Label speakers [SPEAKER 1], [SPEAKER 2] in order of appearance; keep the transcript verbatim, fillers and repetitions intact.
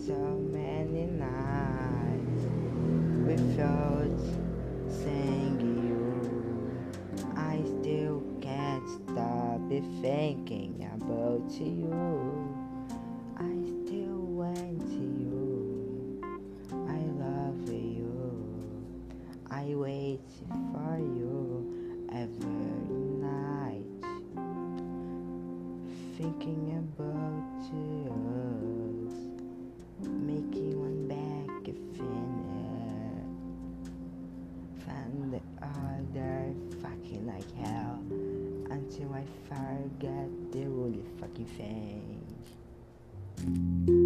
[SPEAKER 1] so many nights without seeing you. I still can't stop be thinking about you. I still want you. I love you. I wait for you every night, thinking about us, making one back a finish, find the other fucking like hell, until I forget the really fucking thing.